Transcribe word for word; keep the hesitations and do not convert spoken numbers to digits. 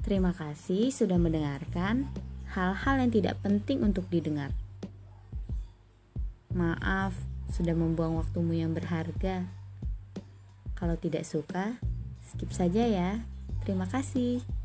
Terima kasih sudah mendengarkan hal-hal yang tidak penting untuk didengar. Maaf sudah membuang waktumu yang berharga. Kalau tidak suka, skip saja ya. Terima kasih.